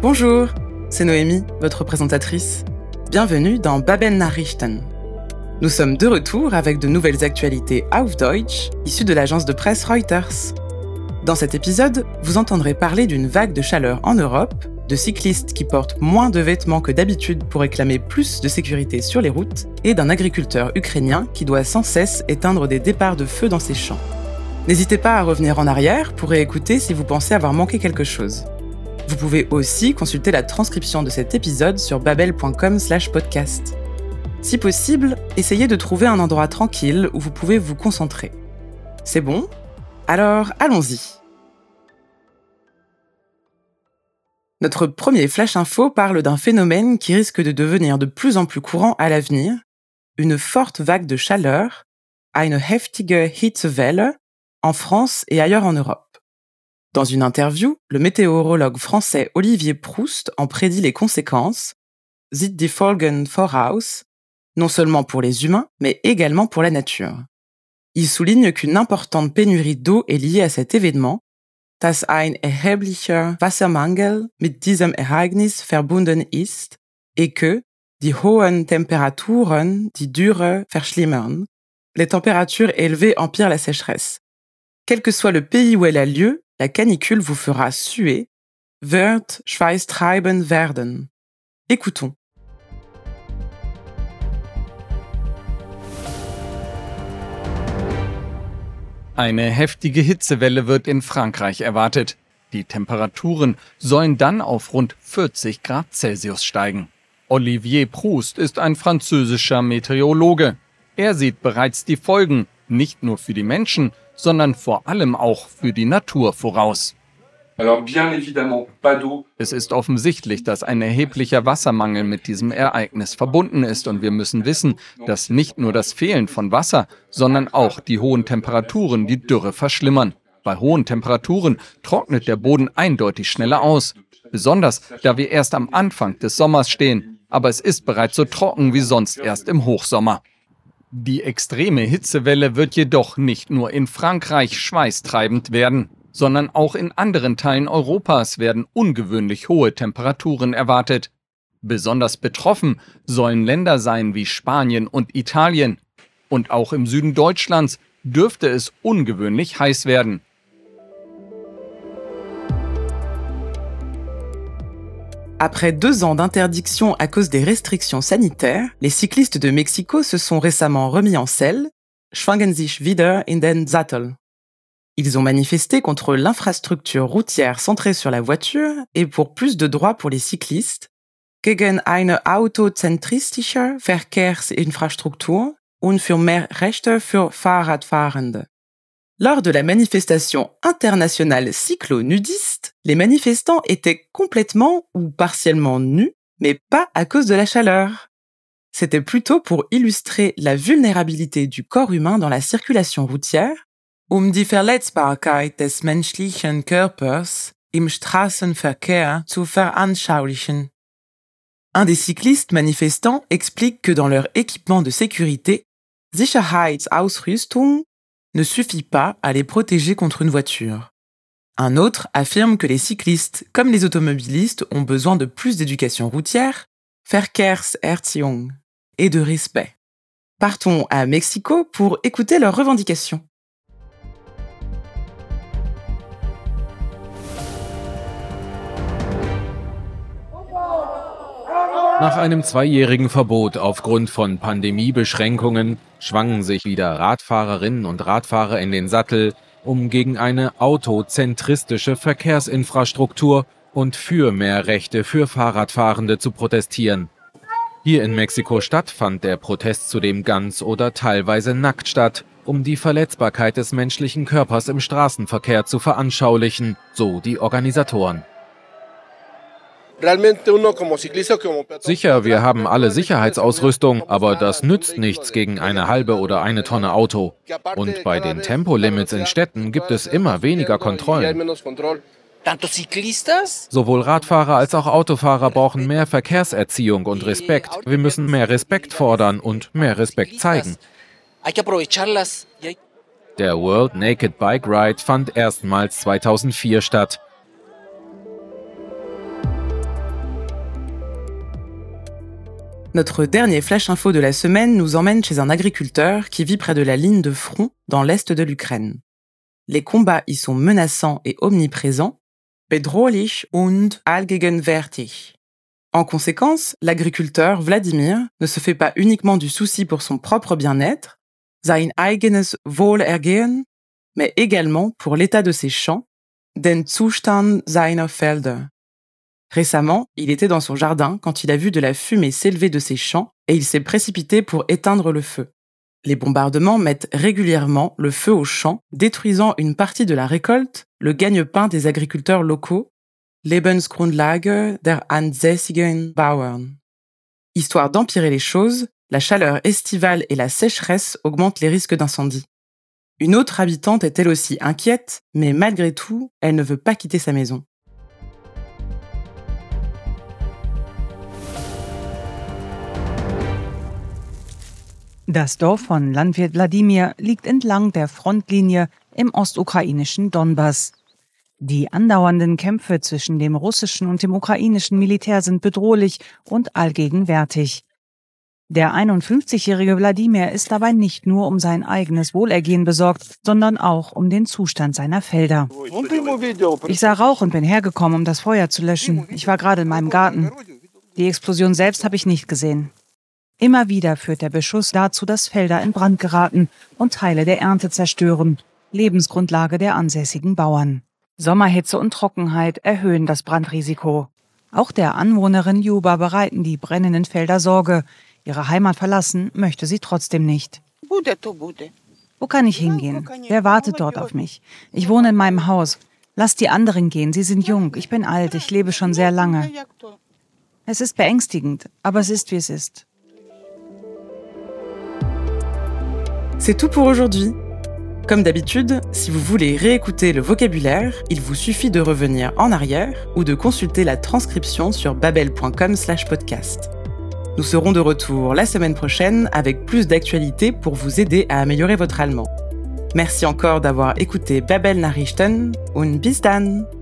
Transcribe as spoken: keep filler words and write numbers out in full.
Bonjour, c'est Noémie, votre présentatrice. Bienvenue dans Babel Nachrichten. Nous sommes de retour avec de nouvelles actualités auf Deutsch, issues de l'agence de presse Reuters. Dans cet épisode, vous entendrez parler d'une vague de chaleur en Europe, de cyclistes qui portent moins de vêtements que d'habitude pour réclamer plus de sécurité sur les routes, et d'un agriculteur ukrainien qui doit sans cesse éteindre des départs de feu dans ses champs. N'hésitez pas à revenir en arrière pour réécouter si vous pensez avoir manqué quelque chose. Vous pouvez aussi consulter la transcription de cet épisode sur babel point com slash podcast. Si possible, essayez de trouver un endroit tranquille où vous pouvez vous concentrer. C'est bon ? Alors, allons-y. Notre premier flash info parle d'un phénomène qui risque de devenir de plus en plus courant à l'avenir, une forte vague de chaleur, eine heftige Hitzewelle, en France et ailleurs en Europe. Dans une interview, le météorologue français Olivier Proust en prédit les conséquences, sieht die Folgen voraus, non seulement pour les humains, mais également pour la nature. Il souligne qu'une importante pénurie d'eau est liée à cet événement, dass ein erheblicher Wassermangel mit diesem Ereignis verbunden ist, et que die hohen Temperaturen die Dürre verschlimmern, les températures élevées empirent la sécheresse. Quel que soit le pays où elle a lieu, la canicule vous fera suer, wird schweißtreibend werden. Écoutons. Eine heftige Hitzewelle wird in Frankreich erwartet. Die Temperaturen sollen dann auf rund vierzig Grad Celsius steigen. Olivier Proust ist ein französischer Meteorologe. Er sieht bereits die Folgen, nicht nur für die Menschen, sondern vor allem auch für die Natur voraus. Alors bien évidemment, pas d'eau. Es ist offensichtlich, dass ein erheblicher Wassermangel mit diesem Ereignis verbunden ist und wir müssen wissen, dass nicht nur das Fehlen von Wasser, sondern auch die hohen Temperaturen die Dürre verschlimmern. Bei hohen Temperaturen trocknet der Boden eindeutig schneller aus, besonders da wir erst am Anfang des Sommers stehen, aber es ist bereits so trocken wie sonst erst im Hochsommer. Die extreme Hitzewelle wird jedoch nicht nur in Frankreich schweißtreibend werden, sondern auch in anderen Teilen Europas werden ungewöhnlich hohe Temperaturen erwartet. Besonders betroffen sollen Länder sein wie Spanien und Italien. Und auch im Süden Deutschlands dürfte es ungewöhnlich heiß werden. Après deux ans d'interdiction à cause des restrictions sanitaires, les cyclistes de Mexico se sont récemment remis en selle, schwingen sich wieder in den Sattel. Ils ont manifesté contre l'infrastructure routière centrée sur la voiture et pour plus de droits pour les cyclistes, gegen eine autozentristische Verkehrsinfrastruktur und für mehr Rechte für Fahrradfahrende. Lors de la manifestation internationale cyclo-nudiste, les manifestants étaient complètement ou partiellement nus, mais pas à cause de la chaleur. C'était plutôt pour illustrer la vulnérabilité du corps humain dans la circulation routière, um die Verletzbarkeit des menschlichen Körpers im Straßenverkehr zu veranschaulichen. Un des cyclistes manifestants explique que dans leur équipement de sécurité, Sicherheitsausrüstung ne suffit pas à les protéger contre une voiture. Un autre affirme que les cyclistes, comme les automobilistes, ont besoin de plus d'éducation routière, Verkehrserziehung, et de respect. Partons à Mexico pour écouter leurs revendications. Nach einem zweijährigen Verbot aufgrund von Pandemiebeschränkungen schwangen sich wieder Radfahrerinnen und Radfahrer in den Sattel, um gegen eine autozentristische Verkehrsinfrastruktur und für mehr Rechte für Fahrradfahrende zu protestieren. Hier in Mexiko-Stadt fand der Protest zudem ganz oder teilweise nackt statt, um die Verletzbarkeit des menschlichen Körpers im Straßenverkehr zu veranschaulichen, so die Organisatoren. Sicher, wir haben alle Sicherheitsausrüstung, aber das nützt nichts gegen eine halbe oder eine Tonne Auto. Und bei den Tempolimits in Städten gibt es immer weniger Kontrollen. Sowohl Radfahrer als auch Autofahrer brauchen mehr Verkehrserziehung und Respekt. Wir müssen mehr Respekt fordern und mehr Respekt zeigen. Der World Naked Bike Ride fand erstmals zweitausendvier statt. Notre dernier flash info de la semaine nous emmène chez un agriculteur qui vit près de la ligne de front dans l'est de l'Ukraine. Les combats y sont menaçants et omniprésents, bedrohlich und allgegenwärtig. En conséquence, l'agriculteur Vladimir ne se fait pas uniquement du souci pour son propre bien-être, sein eigenes Wohlergehen, mais également pour l'état de ses champs, den Zustand seiner Felder. Récemment, il était dans son jardin quand il a vu de la fumée s'élever de ses champs et il s'est précipité pour éteindre le feu. Les bombardements mettent régulièrement le feu aux champs, détruisant une partie de la récolte, le gagne-pain des agriculteurs locaux, Lebensgrundlage der ansässigen Bauern. Histoire d'empirer les choses, la chaleur estivale et la sécheresse augmentent les risques d'incendie. Une autre habitante est elle aussi inquiète, mais malgré tout, elle ne veut pas quitter sa maison. Das Dorf von Landwirt Wladimir liegt entlang der Frontlinie im ostukrainischen Donbass. Die andauernden Kämpfe zwischen dem russischen und dem ukrainischen Militär sind bedrohlich und allgegenwärtig. Der einundfünfzigjährige Wladimir ist dabei nicht nur um sein eigenes Wohlergehen besorgt, sondern auch um den Zustand seiner Felder. Ich sah Rauch und bin hergekommen, um das Feuer zu löschen. Ich war gerade in meinem Garten. Die Explosion selbst habe ich nicht gesehen. Immer wieder führt der Beschuss dazu, dass Felder in Brand geraten und Teile der Ernte zerstören, Lebensgrundlage der ansässigen Bauern. Sommerhitze und Trockenheit erhöhen das Brandrisiko. Auch der Anwohnerin Juba bereiten die brennenden Felder Sorge. Ihre Heimat verlassen möchte sie trotzdem nicht. Wo kann ich hingehen? Wer wartet dort auf mich? Ich wohne in meinem Haus. Lasst die anderen gehen, sie sind jung. Ich bin alt, ich lebe schon sehr lange. Es ist beängstigend, aber es ist, wie es ist. C'est tout pour aujourd'hui. Comme d'habitude, si vous voulez réécouter le vocabulaire, il vous suffit de revenir en arrière ou de consulter la transcription sur babel point com slash podcast. Nous serons de retour la semaine prochaine avec plus d'actualités pour vous aider à améliorer votre allemand. Merci encore d'avoir écouté Babel Nachrichten und bis dann!